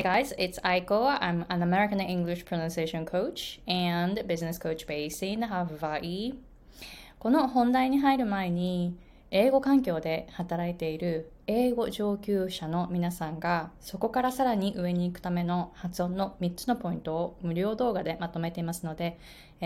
guys, it's Aiko. I'm an American English pronunciation coach and business coach based in Hawaii. この本題に入る前に、英語環境で働いている英語上級者の皆さんが、そこからさらに上に行くための発音の3つのポイントを無料動画でまとめていますので、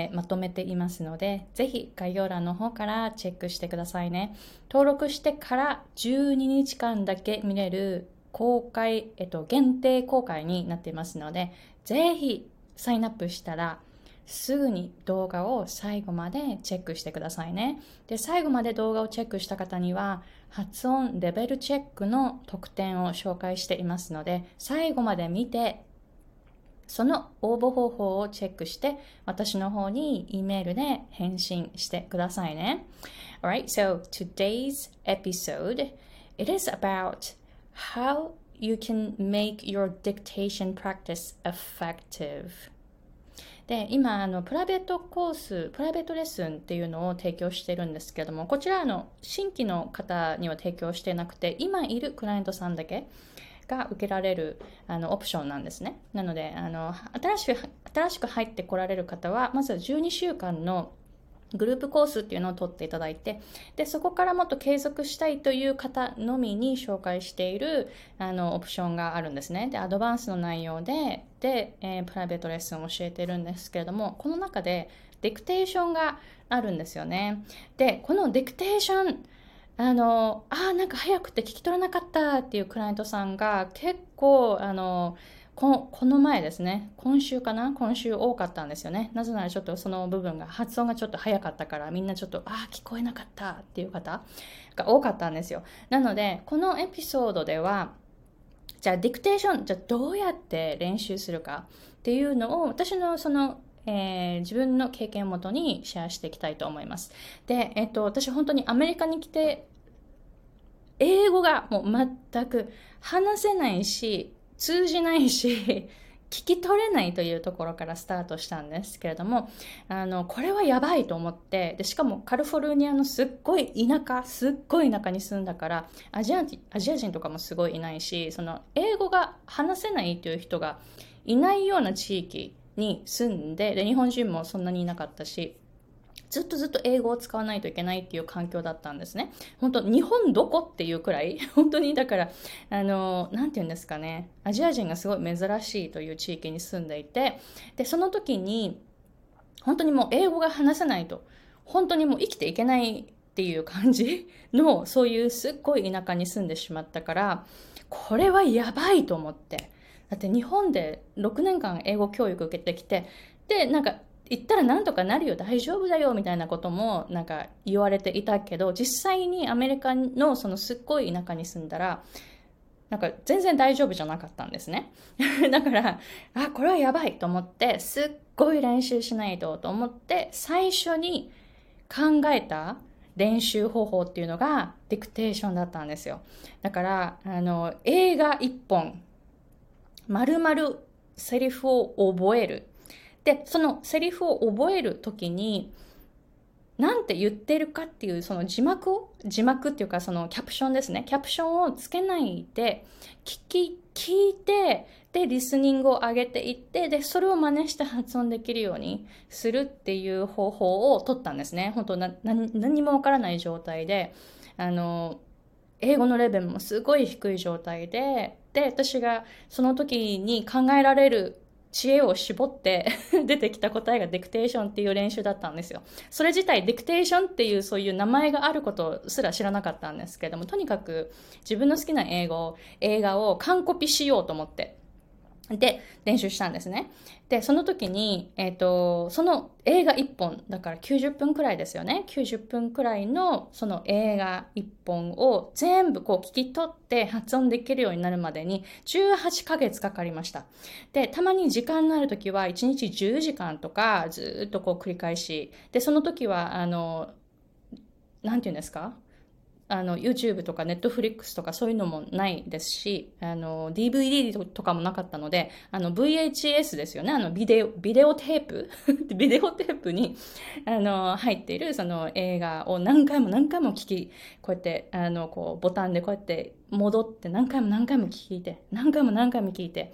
ぜひ概要欄の方からチェックしてくださいね。登録してから12日間だけ見れる公開、限定公開になっていますので、ぜひサインアップしたらすぐに動画を最後までチェックしてくださいね。で、最後まで動画をチェックした方には発音レベルチェックの特典を紹介していますので、最後まで見てその応募方法をチェックして私の方に E メールで返信してくださいね。Alright, so today's episode, it is about how you can make your dictation practice effective. で、今プライベートレッスンっていうのを提供しているんですけれども、こちら新規の方には提供してなくて、今いるクライアントさんだけが受けられるオプションなんですね。なので新しく入ってこられる方は、まずは12週間のグループコースっていうのを取っていただいて、でそこからもっと継続したいという方のみに紹介しているオプションがあるんですね。でアドバンスの内容でプライベートレッスンを教えているんですけれども、この中でディクテーションがあるんですよね。でこのディクテーションなんか早くて聞き取れなかったっていうクライアントさんが結構この前ですね、今週多かったんですよね。なぜならちょっとその部分が発音がちょっと早かったから、みんなちょっと聞こえなかったっていう方が多かったんですよ。なのでこのエピソードでは、じゃあディクテーションどうやって練習するかっていうのを私の自分の経験をもとにシェアしていきたいと思います。で、私本当にアメリカに来て英語がもう全く話せないし通じないし聞き取れないというところからスタートしたんですけれども、これはやばいと思って、でしかもカリフォルニアのすっごい田舎に住んだから、アジア人とかもすごいいないし、英語が話せないという人がいないような地域に住んで、日本人もそんなにいなかったし、ずっと英語を使わないといけないっていう環境だったんですね。本当日本どこっていうくらい本当にだからなんていうんですかね、アジア人がすごい珍しいという地域に住んでいて、でその時に本当にもう英語が話せないと本当にもう生きていけないっていう感じの、そういうすっごい田舎に住んでしまったから、これはやばいと思って、だって日本で6年間英語教育受けてきて、でなんか言ったらなんとかなるよ、大丈夫だよみたいなこともなんか言われていたけど、実際にアメリカのすっごい田舎に住んだらなんか全然大丈夫じゃなかったんですね。だからこれはやばいと思って、すっごい練習しないと思って最初に考えた練習方法っていうのがディクテーションだったんですよ。だから映画一本丸々セリフを覚える。でそのセリフを覚えるときになんて言ってるかっていうその字幕っていうかそのキャプションですね、キャプションをつけないで聞いて、でリスニングを上げていって、でそれを真似して発音できるようにするっていう方法を取ったんですね。本当何もわからない状態で、英語のレベルもすごい低い状態で、私がその時に考えられる知恵を絞って出てきた答えがディクテーションっていう練習だったんですよ。それ自体ディクテーションっていうそういう名前があることすら知らなかったんですけども、とにかく自分の好きな映画を完コピしようと思ってで練習したんですね。でその時に、その映画1本だから90分くらいですよね。90分くらいのその映画1本を全部聞き取って発音できるようになるまでに18ヶ月かかりました。でたまに時間のある時は1日10時間とかずっと繰り返しで、その時はなんていうんですか、YouTube とか Netflix とかそういうのもないですし、DVD とかもなかったので、VHS ですよね、ビデオテープビデオテープに入っているその映画を何回もこうやってボタンでこうやって戻って何回も聞いて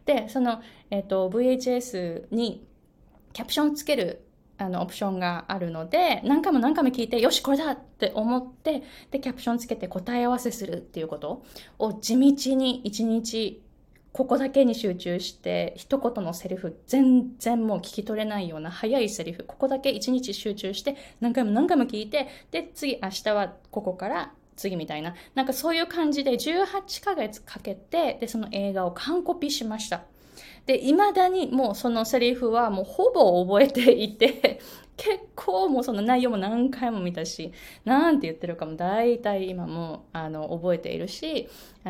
で、VHS にキャプションつけるオプションがあるので、何回も何回も聞いて、よし、これだって思って、で、キャプションつけて答え合わせするっていうことを地道に一日、ここだけに集中して、一言のセリフ、全然もう聞き取れないような早いセリフ、ここだけ一日集中して、何回も何回も聞いて、で、次、明日はここから次みたいな、なんかそういう感じで18ヶ月かけて、で、その映画を完コピしました。で、未だにもうそのセリフはもうほぼ覚えていて、結構もうその内容も何回も見たし、なんて言ってるかも大体今も覚えているし、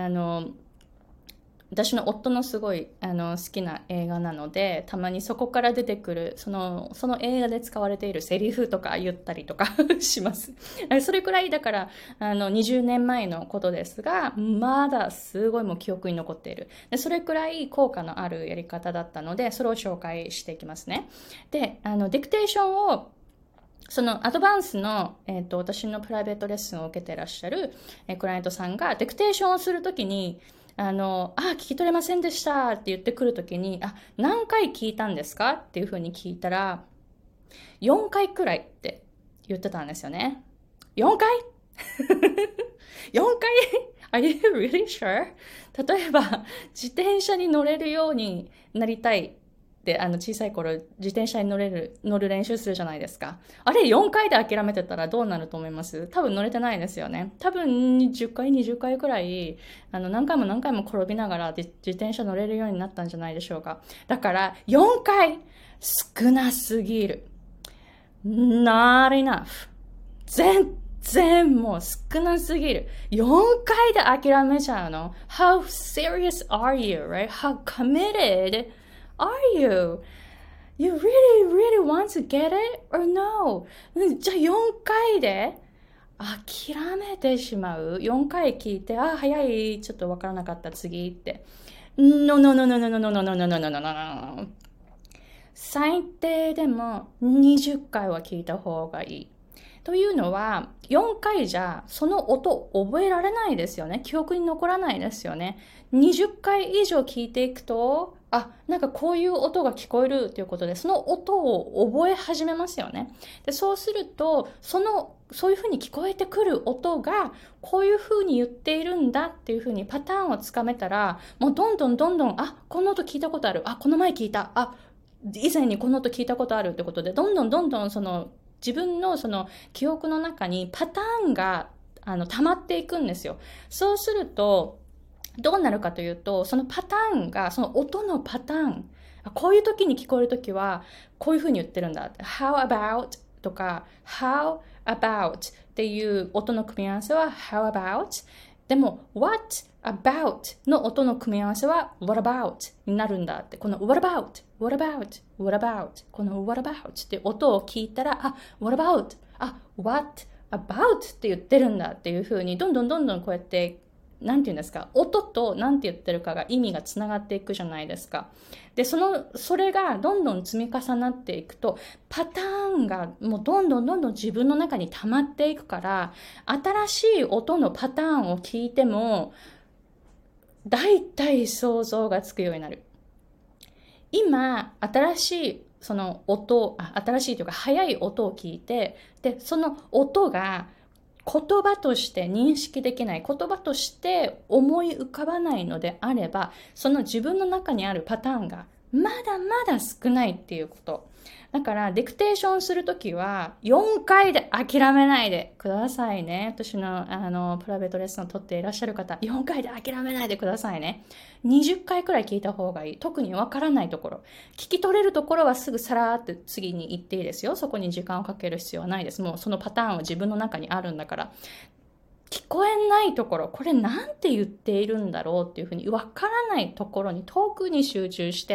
私の夫のすごい好きな映画なので、たまにそこから出てくるその映画で使われているセリフとか言ったりとかします。それくらいだから20年前のことですが、まだすごいもう記憶に残っている。でそれくらい効果のあるやり方だったので、それを紹介していきますね。で、ディクテーションをそのアドバンスの、私のプライベートレッスンを受けてらっしゃる、クライアントさんがディクテーションをするときに聞き取れませんでしたって言ってくるときに、何回聞いたんですかっていうふうに聞いたら、4回くらいって言ってたんですよね。4回 ?4 回 ?Are you really sure? 例えば、自転車に乗れるようになりたいで、小さい頃、自転車に乗る練習するじゃないですか。あれ、4回で諦めてたらどうなると思います？多分乗れてないですよね。多分、10回、20回くらい、何回も何回も転びながら自転車乗れるようになったんじゃないでしょうか。だから、4回、少なすぎる。not enough. 全然もう少なすぎる。4回で諦めちゃうの？ How serious are you, right? How committed are you? You really want to get it or no? じゃあ4回で諦めてしまう？ 4 回聞いて、早い、ちょっとわからなかった、次って。No, no, no, no, no, no, no, no, no, no, no, no, no, no. 最低でも20回は聞いた方がいい。というのは、4回じゃその音覚えられないですよね。記憶に残らないですよね。20回以上聞いていくと、なんかこういう音が聞こえるということで、その音を覚え始めますよね。で、そうすると、そういうふうに聞こえてくる音が、こういうふうに言っているんだっていうふうにパターンをつかめたら、もうどんどん、この音聞いたことある。この前聞いた。以前にこの音聞いたことあるってことで、どんどん自分のその記憶の中にパターンが溜まっていくんですよ。そうすると、どうなるかというと、そのパターンが、その音のパターン、こういう時に聞こえる時は、こういう風に言ってるんだ。How about とか、How about っていう音の組み合わせは How about。でも、What about の音の組み合わせは What about になるんだって。この What about、What about、What about、この What about って音を聞いたら、What about、What about って言ってるんだっていう風に、どんどんこうやってなんて言うんですか、音となんて言ってるかが意味がつながっていくじゃないですか。で、それがどんどん積み重なっていくと、パターンがもうどんどん自分の中に溜まっていくから、新しい音のパターンを聞いても、だいたい想像がつくようになる。今、新しいその音、新しいというか速い音を聞いて、で、その音が言葉として認識できない、言葉として思い浮かばないのであれば、その自分の中にあるパターンがまだまだ少ないっていうこと。だからディクテーションするときは4回で諦めないでくださいね。私のプライベートレッスンを取っていらっしゃる方、4回で諦めないでくださいね。20回くらい聞いた方がいい。特にわからないところ。聞き取れるところはすぐさらーって次に行っていいですよ。そこに時間をかける必要はないです。もうそのパターンは自分の中にあるんだから。聞こえないところ、これなんて言っているんだろうっていうふうにわからないところに特に集中して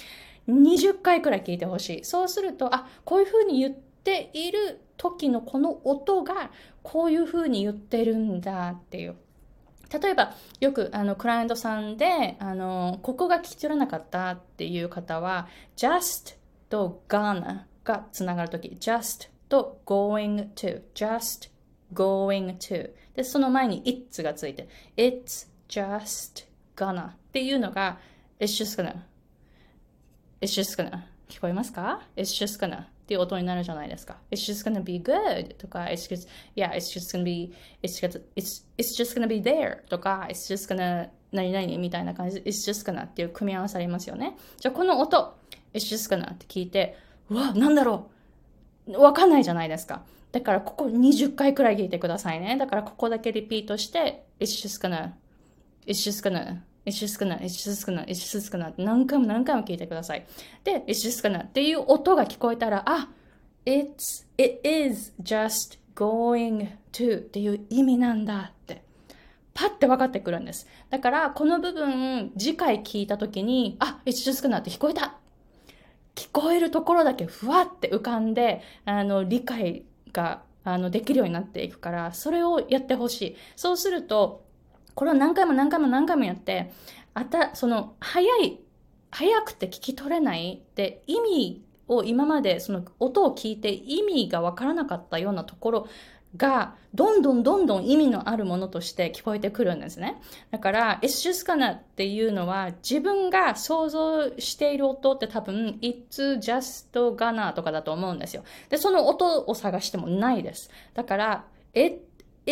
、20回くらい聞いてほしい。そうすると、こういうふうに言っている時のこの音がこういうふうに言ってるんだっていう。例えば、よくクライアントさんで、ここが聞き取れなかったっていう方は、just と gonna がつながるとき、just と going to、just going to。で、その前に it's がついて、it's just gonna っていうのが、 It's just gonna.It's just gonna. 聞こえますか？ It's just gonna っていう音になるじゃないですか。It's just gonna be good とか、yeah, it's just gonna be, it's just gonna be there とか、it's just gonna 何々みたいな感じで、it's just gonna っていう組み合わせありますよね。じゃあこの音、it's just gonna って聞いて、うわ、なんだろうわかんないじゃないですか。だからここ20回くらい聞いてくださいね。だからここだけリピートして、it's just gonna, it's just gonna.It's just gonna, it's just gonna, it's just gonna 何回も何回も聞いてください。で、it's just gonna っていう音が聞こえたら、it is just going to っていう意味なんだって、パッて分かってくるんです。だから、この部分、次回聞いたときに、it's just gonna って聞こえた。聞こえるところだけふわって浮かんで、理解が、できるようになっていくから、それをやってほしい。そうすると、これを何回も何回も何回もやって、その、早くて聞き取れないって意味を今までその音を聞いて意味がわからなかったようなところが、どんどん意味のあるものとして聞こえてくるんですね。だから、It's just gonna っていうのは、自分が想像している音って多分、It's just gonna とかだと思うんですよ。で、その音を探してもないです。だから、It's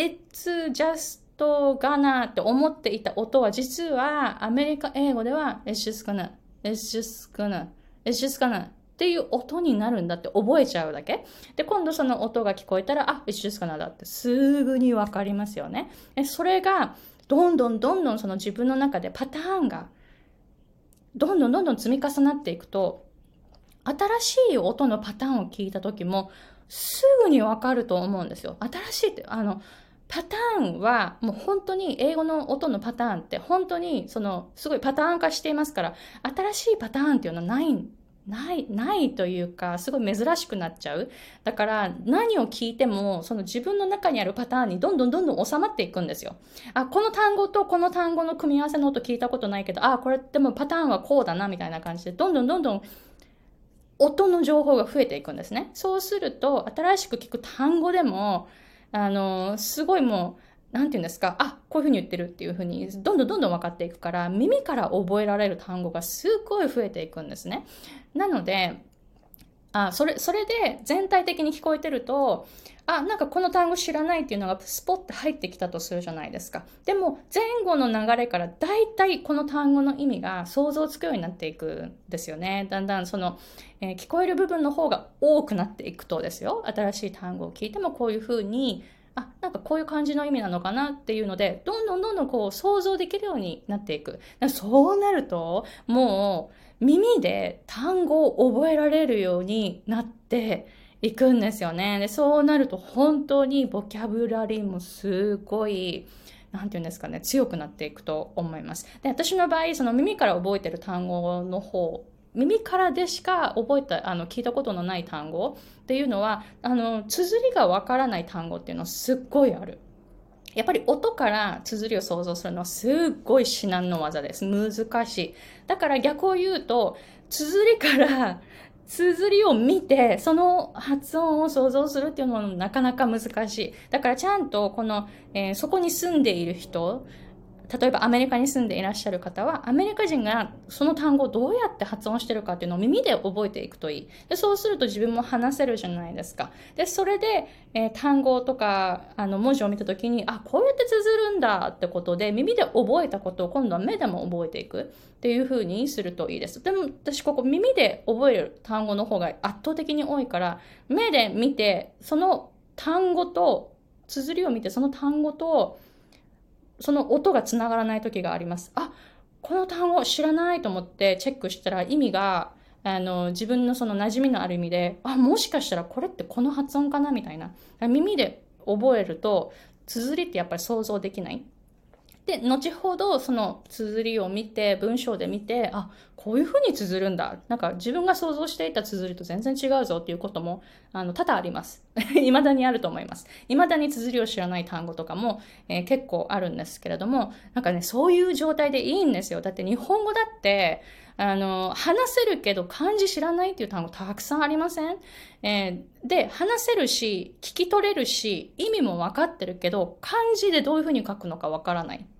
justガナって思っていた音は実はアメリカ英語では It's just gonna, it's just gonna, it's just gonna っていう音になるんだって覚えちゃうだけ。で、今度その音が聞こえたらIt's just gonna だってすぐにわかりますよね。それがどんどんその自分の中でパターンがどんどん積み重なっていくと、新しい音のパターンを聞いた時もすぐにわかると思うんですよ。新しいってパターンはもう本当に英語の音のパターンって本当にすごいパターン化していますから、新しいパターンっていうのはないというか、すごい珍しくなっちゃう。だから何を聞いてもその自分の中にあるパターンにどんどん収まっていくんですよ。この単語とこの単語の組み合わせの音聞いたことないけど、これでもパターンはこうだなみたいな感じでどんどん音の情報が増えていくんですね。そうすると新しく聞く単語でもすごいもう、なんていうんですか、こういうふうに言ってるっていうふうに、どんどん分かっていくから、耳から覚えられる単語がすごい増えていくんですね。なので、それで全体的に聞こえてると、なんかこの単語知らないっていうのがスポッて入ってきたとするじゃないですか。でも前後の流れからだいたいこの単語の意味が想像つくようになっていくんですよね。だんだんその、聞こえる部分の方が多くなっていくとですよ。新しい単語を聞いてもこういうふうに、なんかこういう感じの意味なのかなっていうので、どんどんこう想像できるようになっていく。そうなると、もう耳で単語を覚えられるようになっていくんですよね。で、そうなると本当にボキャブラリーもすごい、なんていうんですかね、強くなっていくと思います。で、私の場合、その耳から覚えてる単語の方、耳からでしか聞いたことのない単語っていうのは、綴りがわからない単語っていうのはすっごいある。やっぱり音から綴りを想像するのはすっごい至難の技です。難しい。だから逆を言うと、綴りを見て、その発音を想像するっていうのはなかなか難しい。だからちゃんとそこに住んでいる人、例えばアメリカに住んでいらっしゃる方は、アメリカ人がその単語をどうやって発音してるかっていうのを耳で覚えていくといい。で、そうすると自分も話せるじゃないですか。で、それで、単語とか、文字を見たときに、こうやって綴るんだってことで、耳で覚えたことを今度は目でも覚えていくっていう風にするといいです。でも、私ここ耳で覚える単語の方が圧倒的に多いから、目で見て、その単語と、綴りを見て、その単語と、その音がつながらない時があります。この単語知らないと思ってチェックしたら意味が、自分のその馴染みのある意味で、もしかしたらこれってこの発音かなみたいな。耳で覚えると、綴りってやっぱり想像できない。で、後ほどその綴りを見て、文章で見て、こういう風に綴るんだ。なんか自分が想像していた綴りと全然違うぞっていうことも、多々あります。未だにあると思います。未だに綴りを知らない単語とかも、結構あるんですけれども、なんかね、そういう状態でいいんですよ。だって日本語だって、話せるけど漢字知らないっていう単語たくさんありません？で、話せるし、聞き取れるし、意味もわかってるけど、漢字でどういう風に書くのかわからない。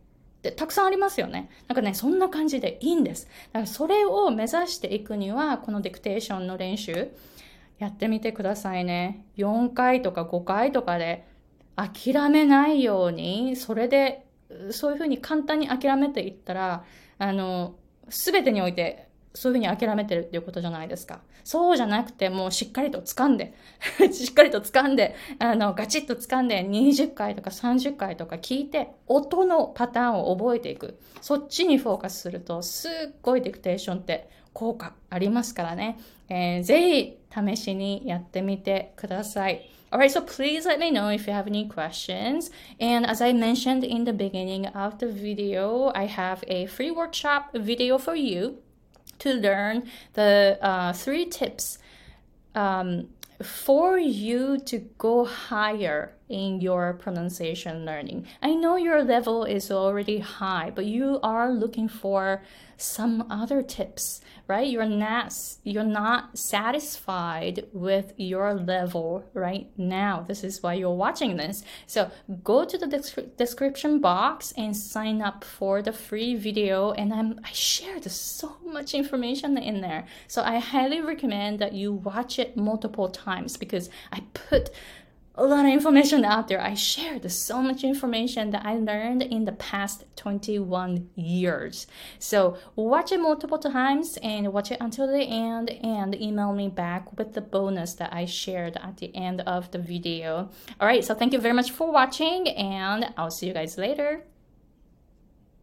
ってたくさんありますよね。なんかね、そんな感じでいいんです。だからそれを目指していくには、このディクテーションの練習、やってみてくださいね。4回とか5回とかで諦めないように、それで、そういうふうに簡単に諦めていったら、すべてにおいて、そういうふうに諦めてるっていうことじゃないですか。そうじゃなくて、もうしっかりと掴んで、しっかりと掴んで、ガチッと掴んで、20回とか30回とか聞いて、音のパターンを覚えていく。そっちにフォーカスすると、すっごいディクテーションって効果ありますからね。ぜひ、試しにやってみてください。Alright, so please let me know if you have any questions. And as I mentioned in the beginning of the video, I have a free workshop video for you to learn the 3 tips for you to go higher in your pronunciation learning. I know your level is already high, but you are looking for some other tips, right? You're not satisfied with your level right now. This is why you're watching this. So go to the description box and sign up for the free video. And I shared so much information in there. So I highly recommend that you watch it multiple times because I put a lot of information out there. I shared so much information that I learned in the past 21 years. So watch it multiple times and watch it until the end and email me back with the bonus that I shared at the end of the video. All right, so thank you very much for watching and I'll see you guys later.